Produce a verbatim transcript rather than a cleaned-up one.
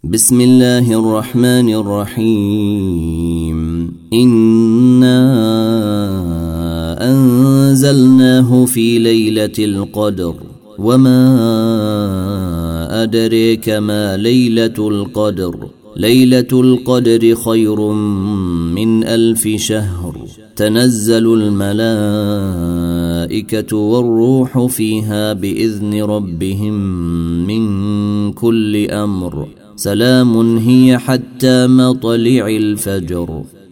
بسم الله الرحمن الرحيم إنا أنزلناه في ليلة القدر وما أدريك ما ليلة القدر ليلة القدر خير من ألف شهر تنزل الملائكة والروح فيها بإذن ربهم من كل أمر سلام هي حتى مطلع الفجر.